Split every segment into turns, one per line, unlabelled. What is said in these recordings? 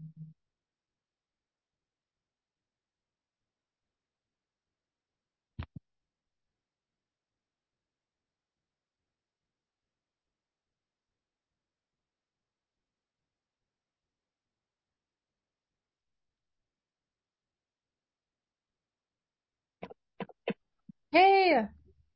Hey,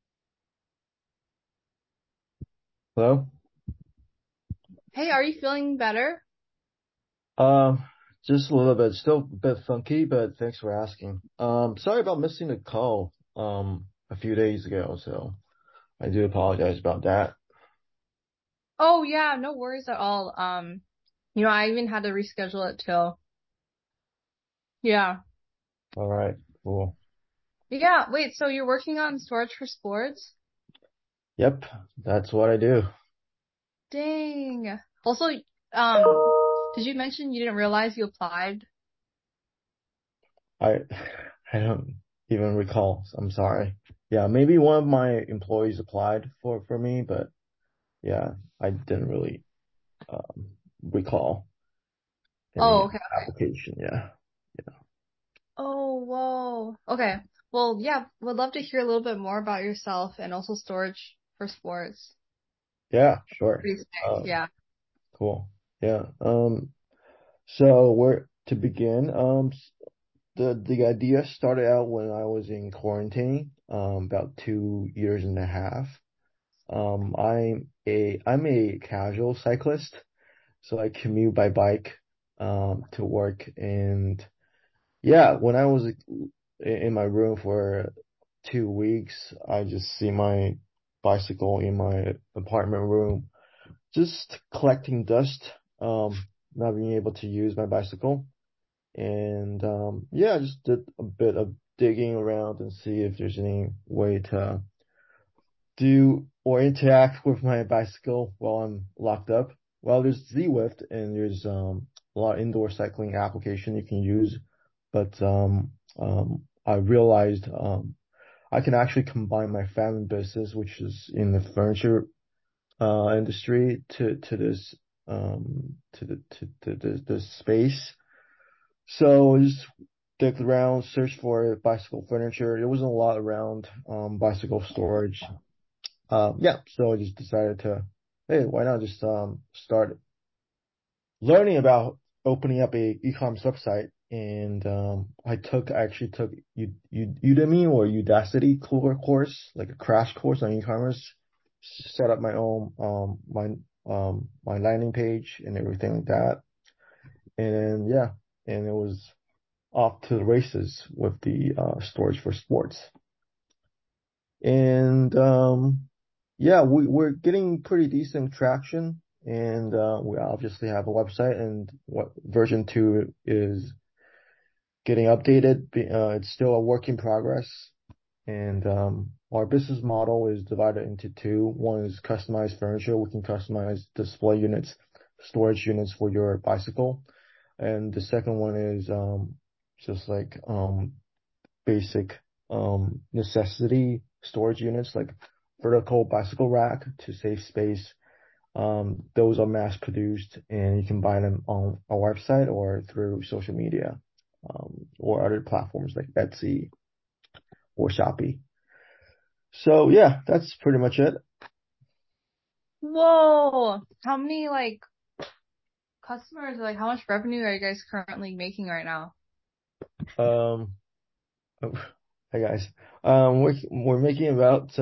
Hello?
hey, are you feeling better?
Um, just a little bit, still a bit funky, but thanks for asking. Sorry about missing the call, a few days ago, so I do apologize about that.
Oh yeah, no worries at all. I even had to reschedule it till yeah.
All right, cool.
Yeah, wait, so you're working on storage for sports?
Yep, that's what I do.
Dang. Also, did you mention you didn't realize you applied?
I I don't even recall. I'm sorry. Yeah, maybe one of my employees applied for me, but yeah, I didn't really recall
Oh,
any
okay.
application. Yeah.
Oh, whoa. Okay. Well, yeah, would love to hear a little bit more about yourself and also storage for sports.
Yeah, sure.
Pretty sick.
Um,
Yeah.
cool. Yeah. So where to begin? The idea started out when I was in quarantine, about 2 years and a half. I'm a casual cyclist, so I commute by bike to work. And yeah, when I was in my room for 2 weeks, I just see my bicycle in my apartment room, just collecting dust, not being able to use my bicycle. And yeah, I just did a bit of digging around and see if there's any way to do or interact with my bicycle while I'm locked up. Well, there's Zwift and there's a lot of indoor cycling application you can use, but I realized I can actually combine my family business, which is in the furniture industry, to this this space. So I just digged around, searched for bicycle furniture. There wasn't a lot around bicycle storage. Yeah, so I just decided to, hey, why not just start learning about opening up a e-commerce website. And I actually took Udemy or Udacity course, like a crash course on e-commerce, set up my own my landing page and everything like that. And then yeah, and it was off to the races with the storage for sports. And yeah, we're getting pretty decent traction. And we obviously have a website, and what version 2 is getting updated. It's still a work in progress. And our business model is divided into two. One is customized furniture. We can customize display units, storage units for your bicycle. And the second one is just like basic necessity storage units like vertical bicycle rack to save space. Those are mass produced and you can buy them on our website or through social media, or other platforms like Etsy or Shopee. So yeah, that's pretty much it.
Whoa. How many customers, like how much revenue are you guys currently making right now?
Um, Hi guys. We're making about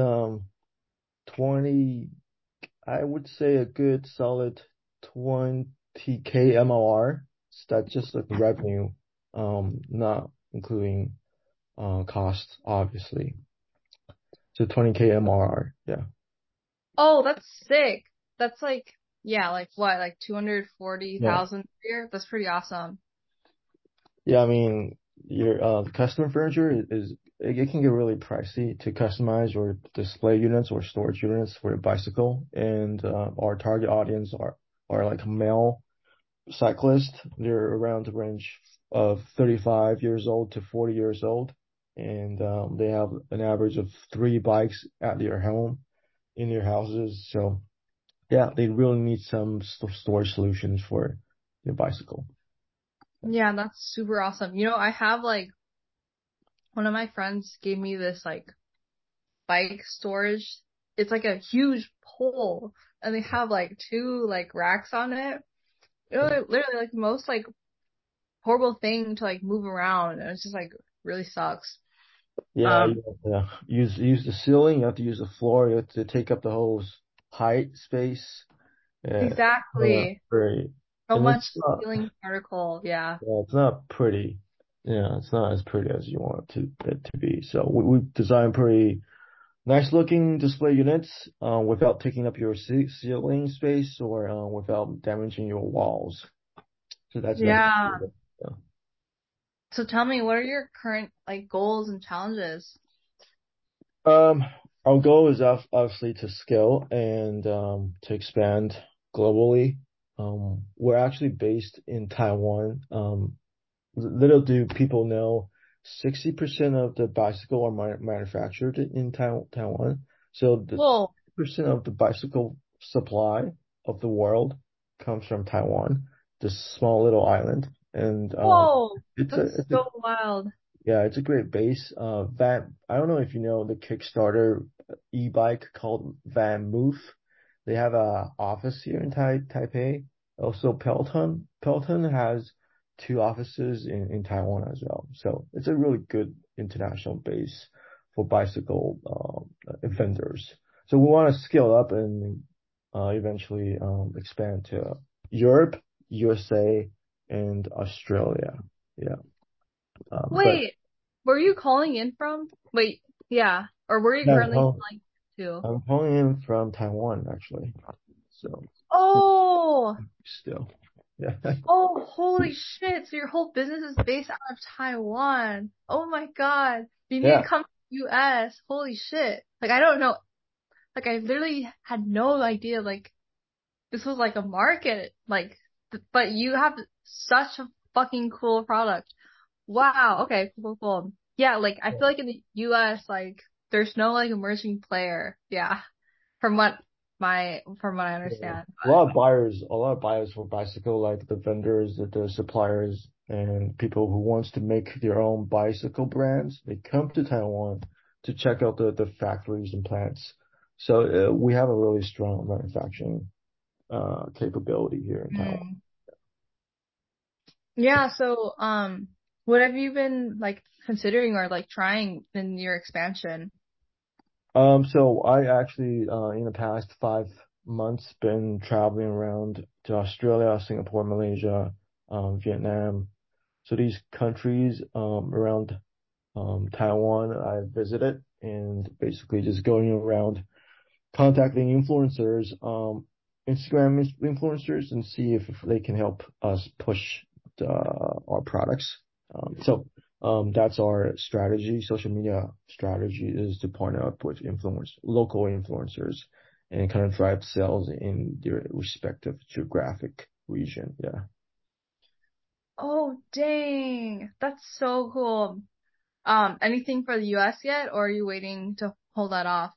20, I would say a good solid 20K MOR. So that's just like revenue, not including costs, obviously. So 20K MOR, yeah.
Oh, that's sick. That's yeah, like what, like
Yeah.
240,000 a year? That's pretty awesome.
Yeah, I mean, your custom furniture it can get really pricey to customize or display units or storage units for a bicycle. And our target audience are like male cyclists. They're around the range of 35 years old to 40 years old, and they have an average of 3 bikes at their home in their houses. So yeah, they really need some storage solutions for their bicycle.
Yeah, that's super awesome. I have like one of my friends gave me this like bike storage. It's like a huge pole and they have like two like racks on it. Literally like the most like horrible thing to like move around and it's just like really sucks.
Yeah,
Um,
you have to use the ceiling, you have to use the floor, you have to take up the whole height space. Yeah,
exactly.
very,
So
and
much ceiling particle. Yeah.
it's not pretty. Yeah, it's not as pretty as you want it to be. So we designed pretty nice looking display units, without taking up your ceiling space or without damaging your walls. So that's
Yeah.
good. Yeah.
So tell me, what are your current like goals and challenges?
Um, our goal is obviously to scale and to expand globally. We're actually based in Taiwan. Little do people know, 60% of the bicycle are manufactured in Taiwan. So the
Whoa.
60% of the bicycle supply of the world comes from Taiwan, this small little island. And
Whoa.
it's a
That's so wild.
yeah, it's a great base. I don't know if you know the Kickstarter e-bike called Van Moof. They have a office here in Taipei. Also, Peloton has two offices in Taiwan as well. So it's a really good international base for bicycle vendors. So we want to scale up and eventually expand to Europe, USA, and Australia. Yeah. But
Wait, where are you calling in from? Wait, yeah. Or where are you
yeah,
currently calling to?
I'm calling in from Taiwan actually. So
Oh,
still, yeah,
oh, holy shit. So your whole business is based out of Taiwan. Oh my God. You need
yeah,
to come to the US. Holy shit. Like, I don't know. Like, I literally had no idea, like, this was like a market. Like, but you have such a fucking cool product. Wow. Okay. Cool, cool, cool. Yeah. Like, I feel like in the US, like, there's no like emerging player. Yeah. From what I
yeah.
understand.
A lot of buyers for bicycle, like the vendors, the suppliers, and people who wants to make their own bicycle brands. They come to Taiwan to check out the factories and plants. So we have a really strong manufacturing capability here in Taiwan.
Mm. Yeah. So, what have you been like considering or like trying in your expansion?
So I actually, in the past 5 months, been traveling around to Australia, Singapore, Malaysia, Vietnam. So these countries, around, Taiwan, I visited and basically just going around contacting influencers, Instagram influencers and see if they can help us push our products. That's our strategy. Social media strategy is to partner up with local influencers and kind of drive sales in their respective geographic region. Yeah.
Oh, dang. That's so cool. Anything for the US yet, or are you waiting to hold that off?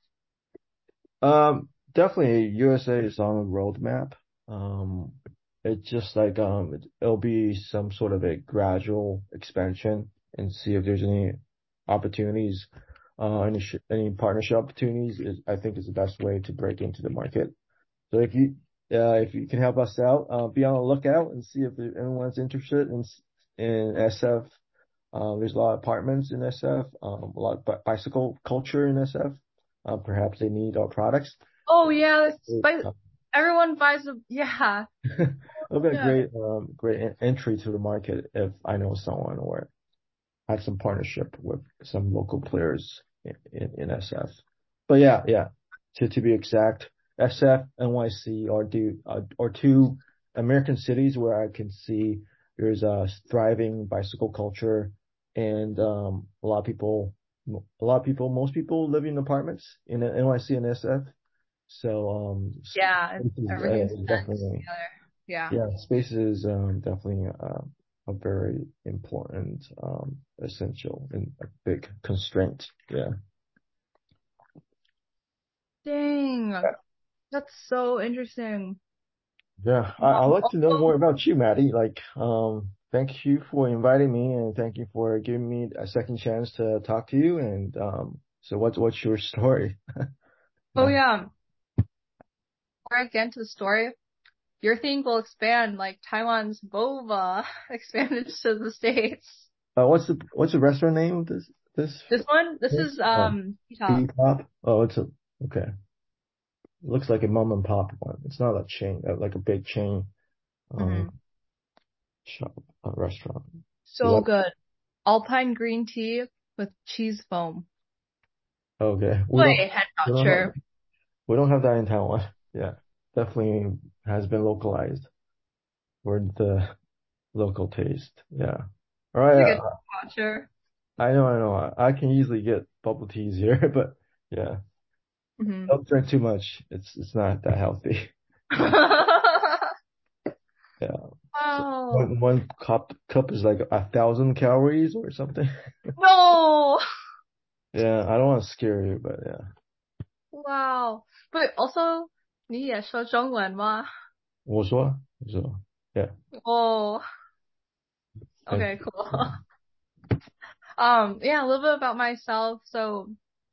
Definitely USA is on the roadmap. Um, it's just like it'll be some sort of a gradual expansion and see if there's any opportunities, any partnership opportunities. I think is the best way to break into the market. So if you can help us out, be on the lookout and see if anyone's interested in SF. There's a lot of apartments in SF, a lot of bicycle culture in SF. Perhaps they need our products.
Oh yeah,
Uh,
everyone buys a yeah.
It'll be a
Yeah.
great entry to the market if I know someone or have some partnership with some local players in SF. But yeah. To be exact, SF, NYC are two American cities where I can see there's a thriving bicycle culture and most people live in apartments in NYC and SF. So
Yeah, everything's next
definitely
together. Yeah.
yeah, space is definitely a very important, essential and a big constraint. Yeah.
Dang, that's so interesting.
Yeah. I'd like to know more
Also,
about you, Maddie. Like, thank you for inviting me and thank you for giving me a second chance to talk to you. And so what's your story?
Oh
Uh,
yeah. Before I get into the story, your thing will expand like Taiwan's boba expanded to the States.
what's the restaurant name of this
This
place?
is T-top.
Tea Top. Oh, okay. Looks like a mom and pop one. It's not a chain, like a big chain um
Hmm.
shop restaurant. You
So
like?
good. Alpine green tea with cheese foam.
Okay,
Wait, head
we don't have
toucher.
we don't have that in Taiwan. Yeah, definitely has been localized for the local taste. Yeah. All
It's
right.
like a toucher.
I know. I can easily get bubble teas here, but yeah,
Hmm.
don't drink too much. It's not that healthy. Yeah. So
Oh
one cup is like 1,000 calories or something.
no!
Yeah, I don't want to scare you, but yeah.
Wow. But also, 你也说中文吗?
我说 yeah.
Oh,
And
okay, cool.
yeah.
Yeah, a little bit about myself. So,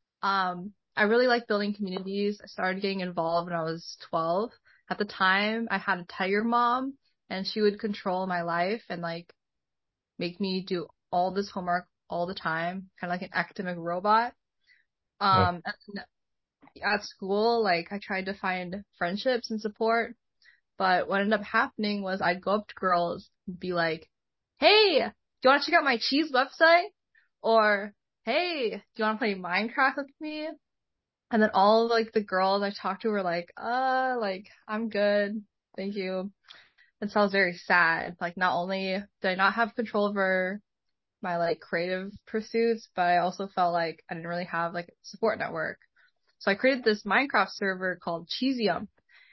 I really like building communities. I started getting involved when I was 12. At the time, I had a tiger mom, and she would control my life and like make me do all this homework all the time, kind of like an academic robot.
Yeah.
And at school, like I tried to find friendships and support, but what ended up happening was I'd go up to girls and be like, "Hey, do you want to check out my cheese website?" Or, "Hey, do you want to play Minecraft with me?" And then all like the girls I talked to were like I'm good, thank you. And so I was very sad. Like not only did I not have control over my like creative pursuits, but I also felt like I didn't really have like a support network. So I created this Minecraft server called Cheesium,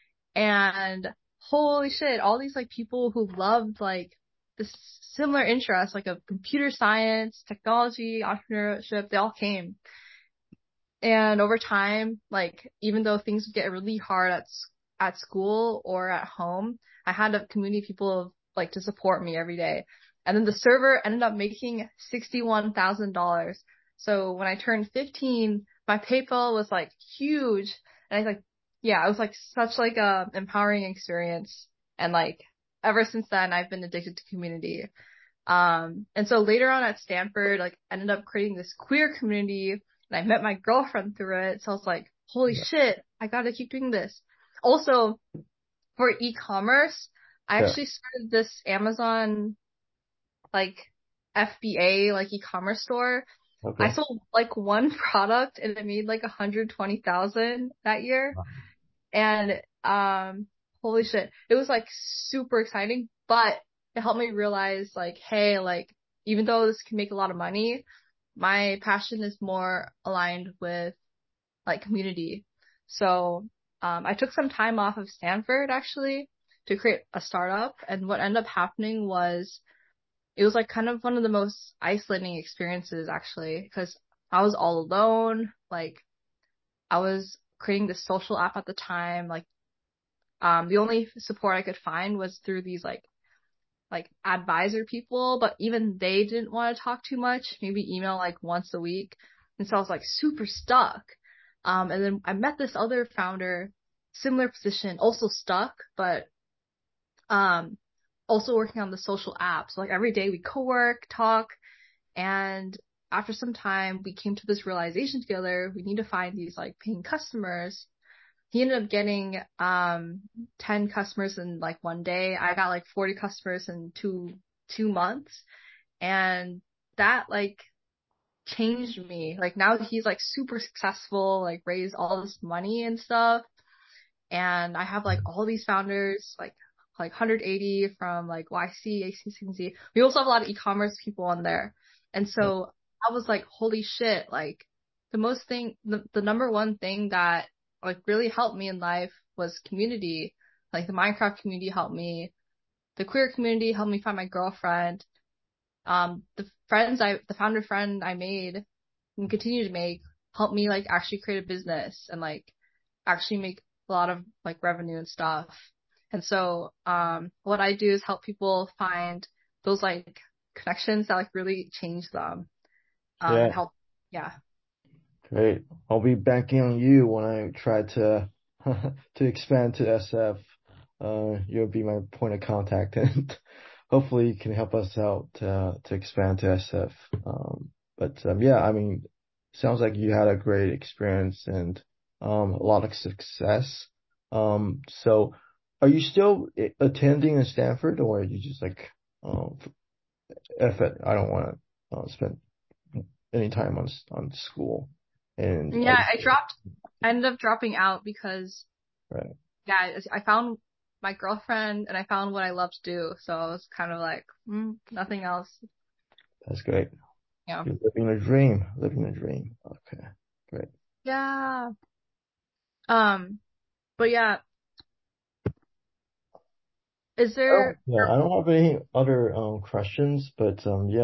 and holy shit, all these like people who loved like this similar interests like of computer science, technology, entrepreneurship, they all came. And over time, like even though things would get really hard at school or at home, I had a community of people like to support me every day. And then the server ended up making $61,000. So when I turned 15, my PayPal was like huge, and I like, yeah, it was like such like a empowering experience. And like ever since then, I've been addicted to community. And so later on at Stanford, like I ended up creating this queer community and I met my girlfriend through it. So I was like, holy
Yeah.
shit, I gotta keep doing this. Also, for e-commerce, I
Yeah.
actually started this Amazon like FBA like e-commerce store. I
Okay.
sold like one product and it made like 120,000 that year. And holy shit, it was like super exciting, but it helped me realize like, hey, like even though this can make a lot of money, my passion is more aligned with like community. So I took some time off of Stanford actually to create a startup, and what ended up happening was it was like kind of one of the most isolating experiences actually, because I was all alone. Like I was creating this social app at the time, like the only support I could find was through these like advisor people, but even they didn't want to talk too much, maybe email like once a week. And so I was like super stuck. And then I met this other founder, similar position, also stuck, but um also working on the social app. So like every day we co-work, talk, and after some time we came to this realization together, we need to find these like paying customers. He ended up getting 10 customers in like one day. I got like 40 customers in two months. And that like changed me. Like now he's like super successful, like raised all this money and stuff. And I have like all these founders, like 180 from like YC, ACCZ. We also have a lot of e-commerce people on there. And
Yeah.
so I was like, holy shit, like the number one thing that like really helped me in life was community. Like the Minecraft community helped me. The queer community helped me find my girlfriend. The founder friend I made and continue to make helped me like actually create a business and like actually make a lot of like revenue and stuff. And so, what I do is help people find those like connections that like really change them,
Yeah,
and help. Yeah.
great. I'll be banking on you when I try to to expand to SF. You'll be my point of contact, and hopefully you can help us out to expand to SF. Yeah, I mean, sounds like you had a great experience and a lot of success. So are you still attending in Stanford, or are you just like, um, F it, I don't want to spend any time on school, and are
Yeah,
you
I ended up dropping out because,
right?
yeah, I found my girlfriend and I found what I love to do. So I was kind of like, nothing else.
That's great.
Yeah.
You're living a dream, living a dream. Okay, great.
Yeah. Um, but yeah, is there,
I don't have any other questions, but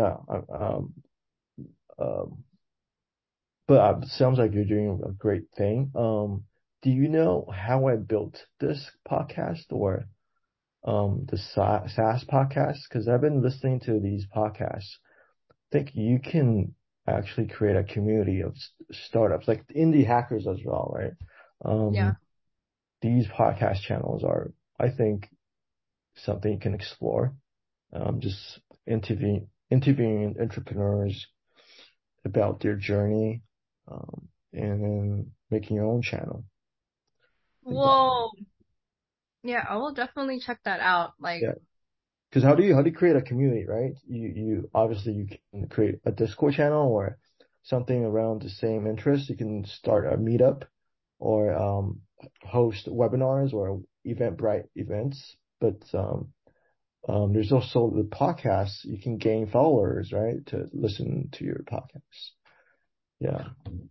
um, sounds like you're doing a great thing. Do you know how I built this podcast or the SaaS podcast? Because I've been listening to these podcasts. I think you can actually create a community of startups, like indie hackers as well, right?
yeah.
Um, these podcast channels are, I think, something you can explore. Just interviewing entrepreneurs about their journey, and then making your own channel. I think that,
Whoa. Yeah, I will definitely check that out. Like,
yeah. Because how do you create a community, right? You obviously you can create a Discord channel or something around the same interest. You can start a meetup or host webinars or Eventbrite events. But there's also the podcasts. You can gain followers, right, to listen to your podcasts. Yeah.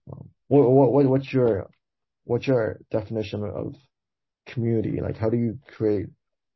What's your definition of community? Like, how do you create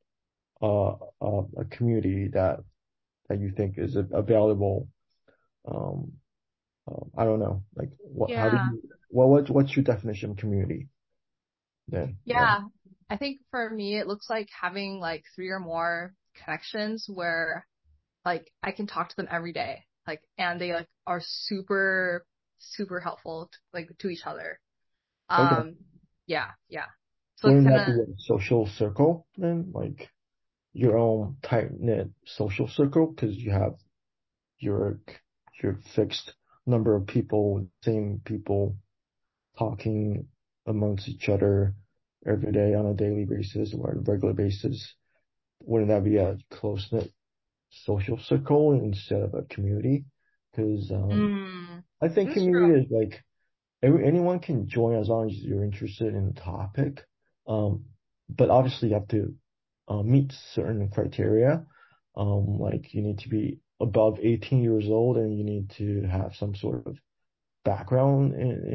a community that you think is a valuable, um, I don't know, like how do
yeah.
you, what's your definition of community then? Yeah.
Yeah. I think for me, it looks like having like three or more connections where like I can talk to them every day. Like, and they like are super, super helpful like to each other.
Okay.
Um, yeah, yeah. So it's
Wouldn't
kind
that
of,
be a social circle then? Like your own tight-knit social circle because you have your your fixed number of people, same people talking amongst each other every day on a daily basis or a regular basis. Wouldn't that be a close-knit social circle instead of a community? Because I think
that's true.
community is like anyone can join as long as you're interested in the topic. Um, but obviously you have to meet certain criteria. Like you need to be above 18 years old and you need to have some sort of background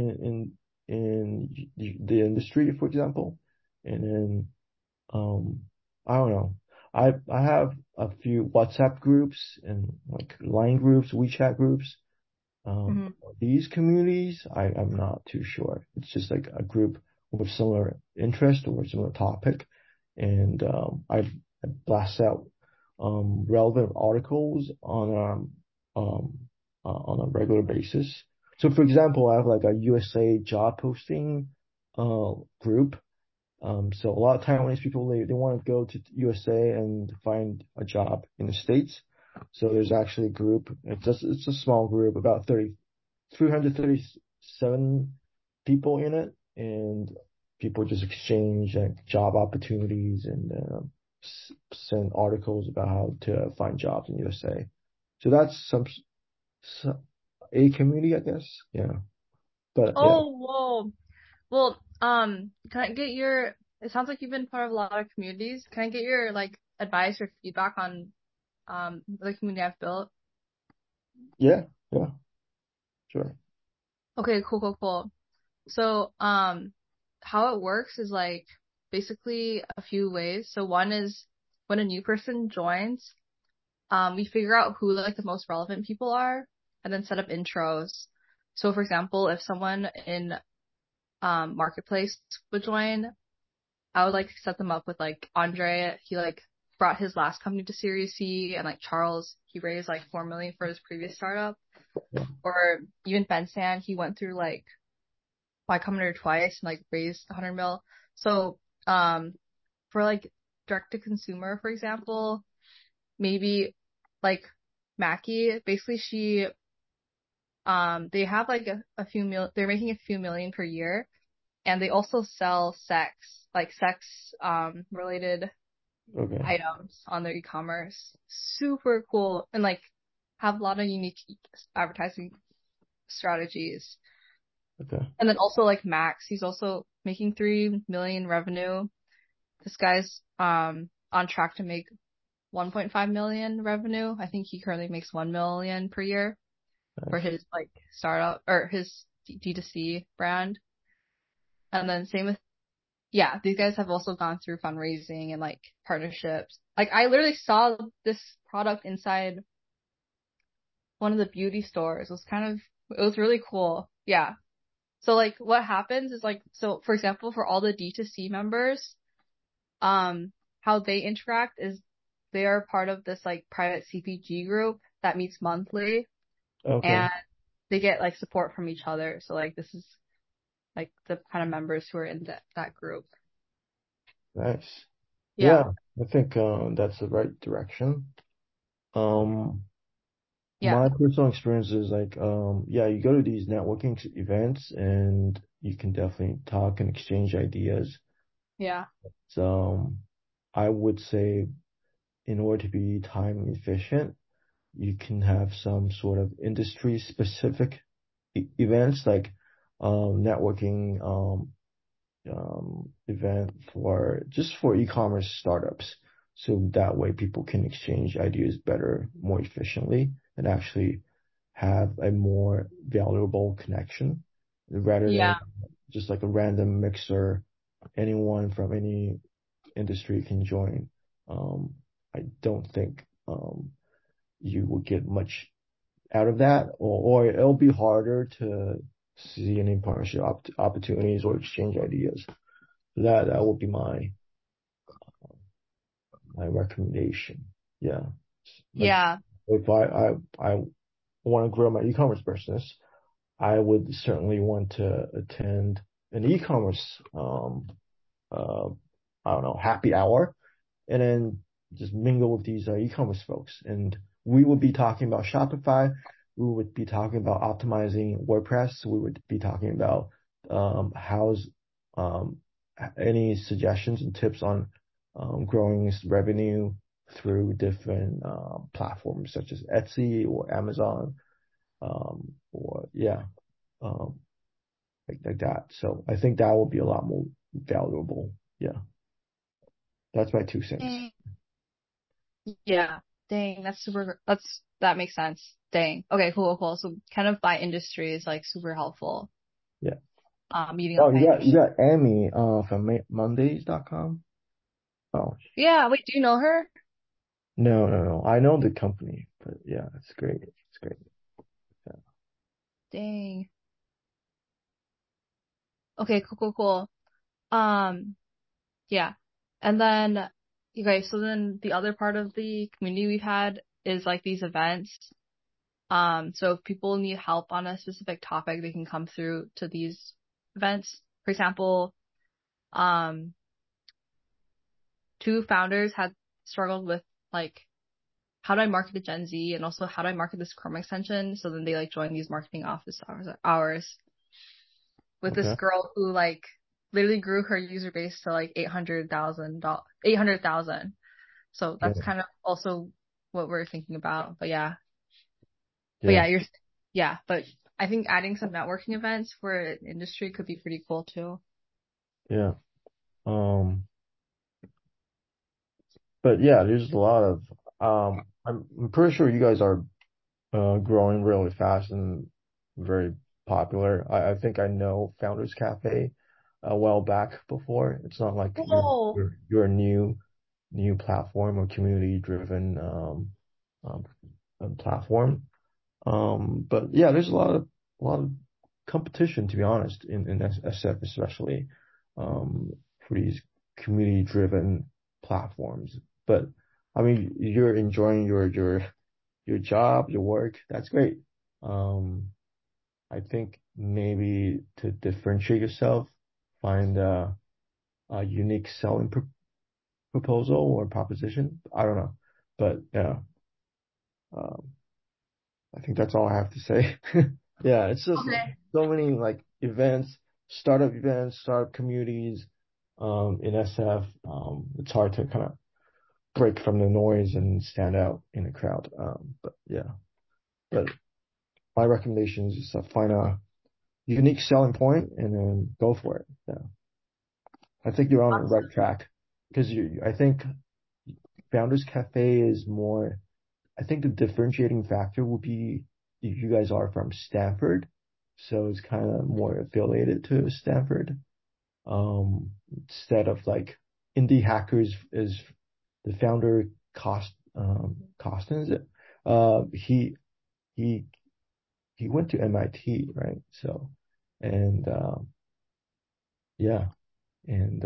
in the industry, for example. And then I don't know. I have a few WhatsApp groups and like Line groups, WeChat groups.
Hmm.
These communities, I'm not too sure. It's just like a group with similar interest or similar topic, and I blast out relevant articles on a regular basis. So, for example, I have like a USA job posting group. So a lot of Taiwanese people they want to go to USA and find a job in the States. So there's actually a group. It's a small group, about 337 people in it, and people just exchange like job opportunities and send articles about how to find jobs in USA. So that's some a community, I guess. Yeah, but yeah,
Oh, whoa. Well, can I get your, it sounds like you've been part of a lot of communities. Can I get your like advice or feedback on the community I've built?
yeah, yeah, sure.
Okay, cool, cool, cool. So, how it works is like basically a few ways. So one is when a new person joins, we figure out who like the most relevant people are and then set up intros. So for example, if someone in Marketplace would join, I would like set them up with like Andre. He like brought his last company to Series C, and like Charles, he raised like 4 million for his previous startup. Or even Ben San, he went through like Y Combinator twice and like raised 100 mil. So for like direct to consumer, for example, maybe like Mackie, basically they have like a few they're making a few million per year, and they also sell sex related
Okay.
items on their e-commerce. Super cool, and like have a lot of unique advertising strategies.
Okay.
And then also like Max, he's also making 3 million revenue. This guy's on track to make 1.5 million revenue. I think he currently makes 1 million per year for
Nice.
his like startup or his D2C brand. And then same with, yeah, these guys have also gone through fundraising and like partnerships. Like I literally saw this product inside one of the beauty stores. It was really cool. Yeah. So like what happens is like, so for example, for all the D2C members, how they interact is they are part of this like private CPG group that meets monthly,
Okay.
and they get like support from each other. So like this is like the kind of members who are in that group.
Nice.
Yeah.
Yeah, I think that's the right direction. Um,
Yeah.
my personal experience is like, yeah, you go to these networking events and you can definitely talk and exchange ideas.
Yeah.
So, I would say in order to be time efficient, you can have some sort of industry specific events like networking event for just for e-commerce startups. So that way people can exchange ideas better, more efficiently, and actually have a more valuable connection rather than
Yeah.
just like a random mixer. Anyone from any industry can join. Um, I don't think you will get much out of that, or it'll be harder to see any partnership opportunities or exchange ideas. That would be my recommendation. Yeah. Like
Yeah.
if I want to grow my e-commerce business, I would certainly want to attend an e-commerce uh I don't know, happy hour and then just mingle with these e-commerce folks. And we would be talking about Shopify. We would be talking about optimizing WordPress. We would be talking about how's um, any suggestions and tips on growing revenue through different platforms such as Etsy or Amazon, or yeah, um, like that. So I think that would be a lot more valuable. Yeah, that's my 2 cents.
Dang. Yeah. Dang. That makes sense. Dang. Okay. Cool. Cool. So kind of by industry is like super helpful.
Yeah.
Meeting
Oh,
up by
you
industry.
got Amy from Mondays.com. Oh,
Yeah. Wait, do you know her?
no, no, no. I know the company, but yeah, it's great. It's great. Yeah.
Dang. Okay. Cool. Cool. Cool. Um, yeah. And then, okay, so then the other part of the community we've had is like these events. So if people need help on a specific topic, they can come through to these events. For example, um, two founders had struggled with like, how do I market to Gen Z, and also how do I market this Chrome extension? So then they like joined these marketing office hours with this
Okay.
girl who like literally grew her user base to like 800,000. So that's
Yeah.
kind of also what we're thinking about. But
Yeah.
yeah, yeah, but I think adding some networking events for an industry could be pretty cool too.
Yeah. Um, but yeah, there's a lot of I'm pretty sure you guys are growing really fast and very popular. I think I know Founders Cafe a while back before. It's not like
Oh,
you're a new platform or community driven um, platform. But yeah, there's a lot of competition, to be honest, in SF especially, for these community driven platforms. But I mean, you're enjoying your job, your work. That's great. Um, I think maybe to differentiate yourself, find a unique selling proposal or proposition. I don't know, but yeah, um, I think that's all I have to say. Yeah, it's just
Okay.
so many like events, startup communities, in SF. It's hard to kind of break from the noise and stand out in the crowd. But yeah, but my recommendation is just find a unique selling point and then go for it. Yeah, I think you're on the right track because I think Founders Cafe is more. I think the differentiating factor will be you guys are from Stanford, so it's kind of more affiliated to Stanford. Instead of like Indie Hackers is the founder Costin, is it? He he he went to MIT, right? So and yeah, and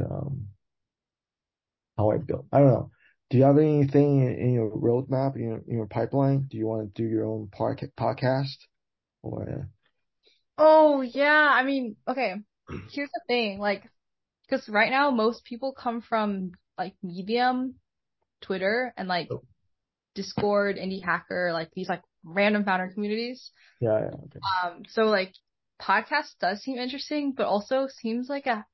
how I built. I don't know. Do you have anything in your roadmap, in your pipeline? Do you want to do your own podcast or?
Oh yeah, I mean, okay. Here's the thing, like, because right now most people come from like Medium, Twitter, and like Discord, Indie Hacker, like these like random founder communities.
Yeah, yeah, okay.
So like podcast does seem interesting, but also seems like a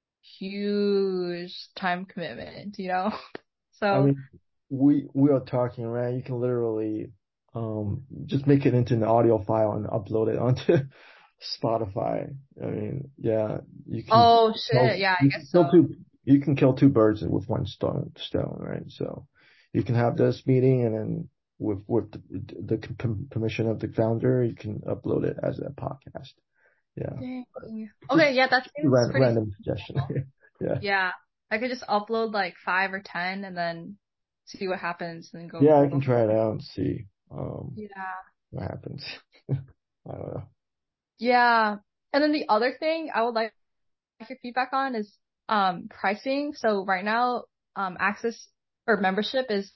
huge time commitment, you know?
I
So
mean, we are talking, right? You can literally just make it into an audio file and upload it onto Spotify. I mean, yeah,
oh shit, yeah, I
you can
guess so.
kill two birds with one stone, right? So you can have this meeting and then with the permission of the founder, you can upload it as a podcast. Yeah.
Dang.
Just
Okay, yeah, that seems pretty
random suggestion.
cool.
Yeah.
Yeah. I could just upload like 5 or 10 and then see what happens and then
Yeah, I
go
can
from
try it
there.
out and see
Yeah.
what happens. I don't know.
Yeah. And then the other thing I would like your feedback on is pricing. So right now, access or membership is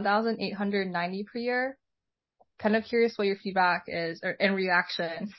1,890 per year. Kind of curious what your feedback is or in reaction.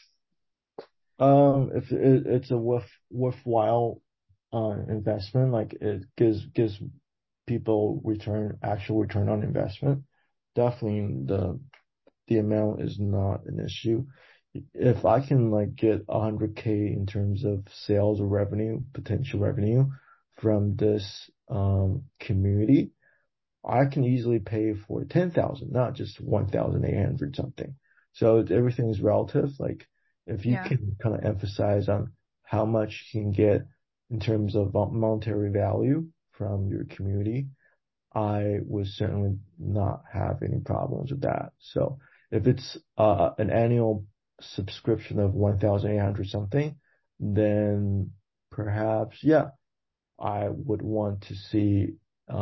If it's a worthwhile investment, like it gives people actual return on investment. Definitely the amount is not an issue. If I can like get 100K in terms of sales or revenue, potential revenue from this community, I can easily pay for 10,000, not just 1,800 something. So everything is relative. Like if you
Yeah.
can kind of emphasize on how much you can get in terms of monetary value from your community, I would certainly not have any problems with that. So if it's an annual subscription of 1,800 something, then perhaps, yeah, I would want to see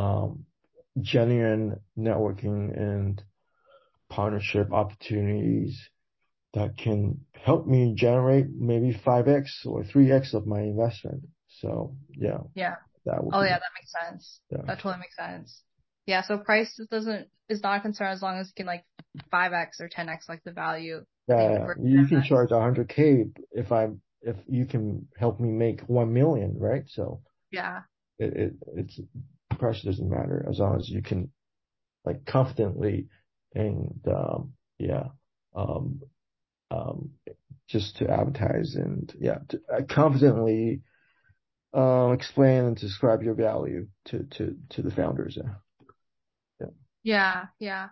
genuine networking and partnership opportunities that can help me generate maybe 5x or 3x of my investment. So yeah,
Yeah.
that would
Oh
be,
yeah, that makes sense.
yeah.
That totally makes sense. Yeah, so price is not a concern as long as you can like 5x or 10x like the value that you
Yeah,
bring to
you can
invest.
charge 100K if you can help me make 1 million, right? So
Yeah.
it's price doesn't matter as long as you can like confidently and yeah um um just to advertise and yeah to confidently explain and describe your value to the founders. Yeah. Yeah.
Yeah, yeah.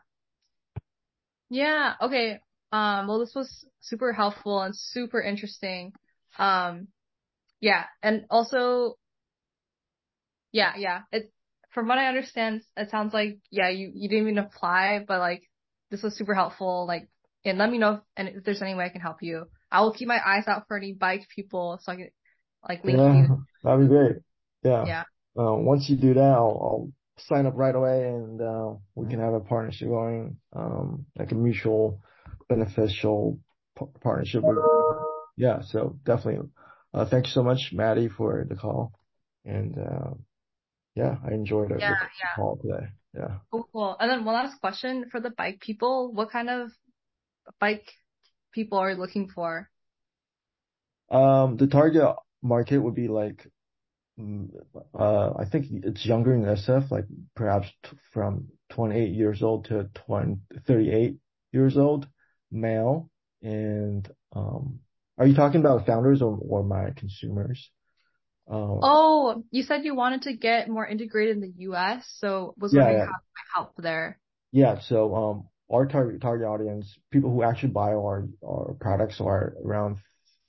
Yeah, okay. Well, this was super helpful and super interesting. Um, yeah, and also, yeah, yeah. From what I understand, it sounds like, yeah, you didn't even apply, but like, this was super helpful. Like, and let me know if there's any way I can help you. I will keep my eyes out for any bike people so I can, like, link
Yeah,
you.
that'd be great. Yeah.
Yeah.
Once you do that, I'll sign up right away and we can have a partnership going, like a mutual beneficial partnership. Yeah, so definitely. Thank you so much, Maddie, for the call. And yeah, I enjoyed
Yeah,
the
yeah.
call today. Yeah.
Cool, cool. And then one last question for the bike people. What kind of bike people are you looking for?
The target market would be like, mm, I think it's younger in SF, like perhaps from 28 years old to 38 years old, male. And are you talking about founders or my consumers? Um,
Oh, you said you wanted to get more integrated in the US, so was
yeah,
wondering
yeah,
how I help there.
yeah. So our target audience, people who actually buy our products are around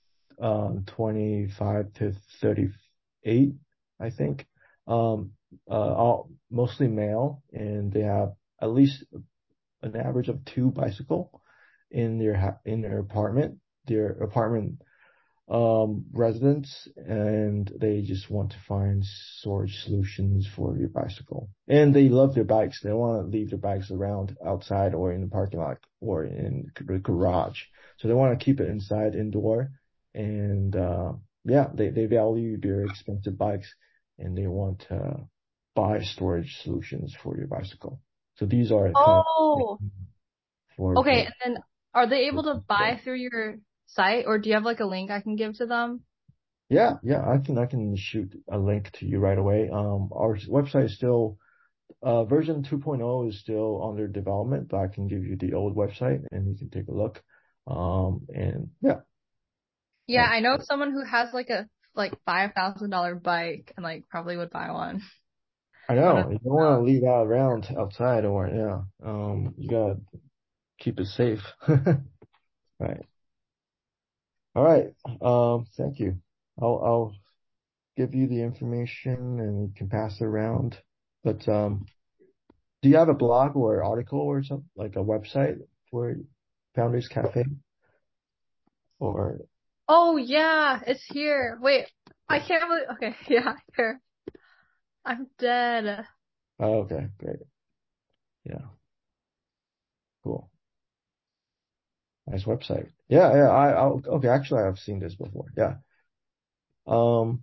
25 to 38, I think. All mostly male, and they have at least an average of two bicycle in their apartment. Their apartment residents, and they just want to find storage solutions for your bicycle. And they love their bikes. They don't want to leave their bikes around outside or in the parking lot or in the garage. So they want to keep it inside, indoor. And yeah, they value their expensive bikes and they want to buy storage solutions for your bicycle. So these are kind of
Oh, okay.
for
And then are they able to buy through your site, or do you have like a link I can give to them?
yeah, yeah, I can shoot a link to you right away. Our website is still version 2.0 is still under development, but I can give you the old website and you can take a look. And yeah,
Yeah,
uh,
I know someone who has like a $5,000 bike and like probably would buy one.
I
One of
know you don't want to leave out around outside or yeah, you gotta keep it safe. Right. All right. Thank you. I'll give you the information and you can pass it around. But do you have a blog or article or something like a website for Founders Cafe? Or
Oh yeah, it's here. Wait, I can't believe. Okay, yeah, here. I'm dead.
oh, okay, great, yeah, cool, nice website. Yeah, yeah. Okay. Actually, I've seen this before. Yeah. Um,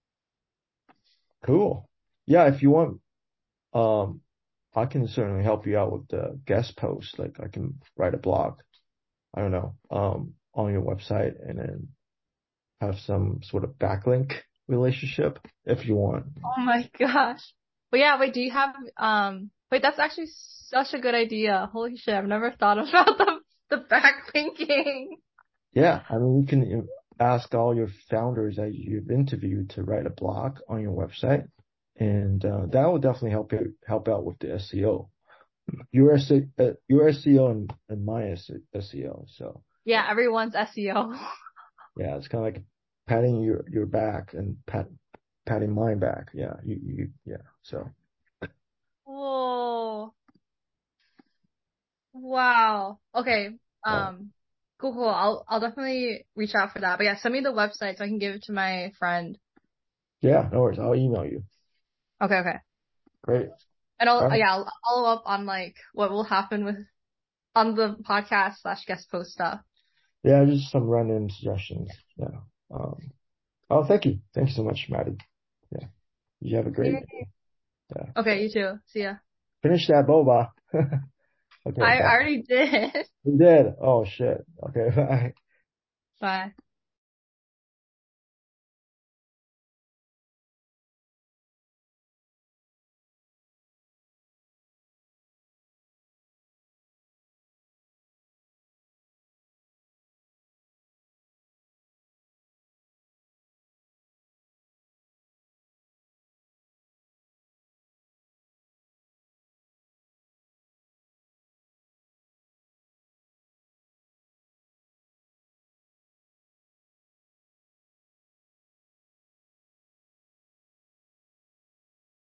cool. Yeah, if you want, um, I can certainly help you out with the guest post. Like, I can write a blog. I don't know, on your website, and then have some sort of backlink relationship if you want.
Oh my gosh. But yeah, wait, do you have wait, that's actually such a good idea. Holy shit, I've never thought about the backlinking.
Yeah, I mean, you can ask all your founders that you've interviewed to write a blog on your website, and that will definitely help out with the SEO. Your SEO and my SEO. So
Yeah, everyone's SEO.
yeah, it's kind of like patting your back and patting mine back. Yeah, yeah. So
Whoa. Wow. Okay.
uh,
Cool, cool. I'll definitely reach out for that. But yeah, send me the website so I can give it to my friend.
yeah, no worries. I'll email you.
Okay, okay.
Great.
And
All right.
I'll follow up on like what will happen with on the podcast slash guest post stuff.
Yeah, just some random suggestions. Yeah. Um, oh, thank you. Thank you so much, Maddie. Yeah. You have a great,
Yay.
yeah.
Okay, you too. See ya.
Finish that boba. Okay,
I
bye.
already did.
You did. Oh shit. Okay, bye.
Bye.